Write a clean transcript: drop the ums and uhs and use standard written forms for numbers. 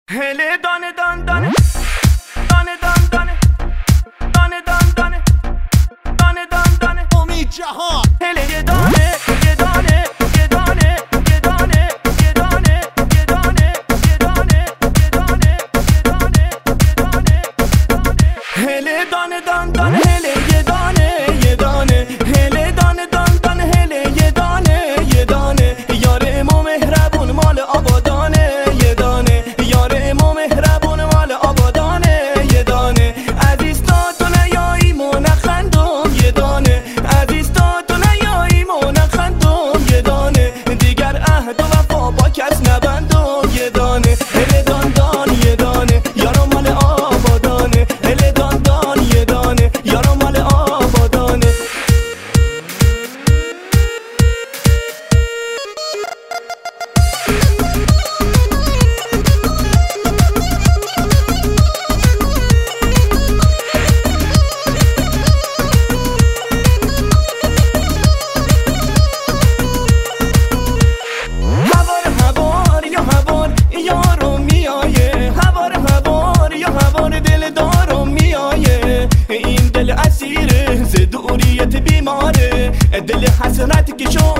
هله دانه دان دانه دانه دان دانه دانه دان دانه دانه دان دانه امید جهان هله یه دانه یه دانه یه دانه یه دانه یه دانه یه دانه یه دانه یه دانه یه دانه یه دانه هله دانه دان دانه هله یه دانه یه دانه هله دانه دان دانه هله یه دانه یه دانه یار امام مهربون مال آبادانه یه دانه یار امام مهربون مال آبادانه یه دانه عزیز تا تو نیایی منخندم یه دانه عزیز تا تو نیایی منخندم یه دانه دیگر عهد و وفا با کس نبندم یه دانه هله دان دان یه دانه یارم مال آبادانه هله دان دان یه دانه یارم مال آبادانه این دل اسیره ز دوریت بیماره دل حسرت که شو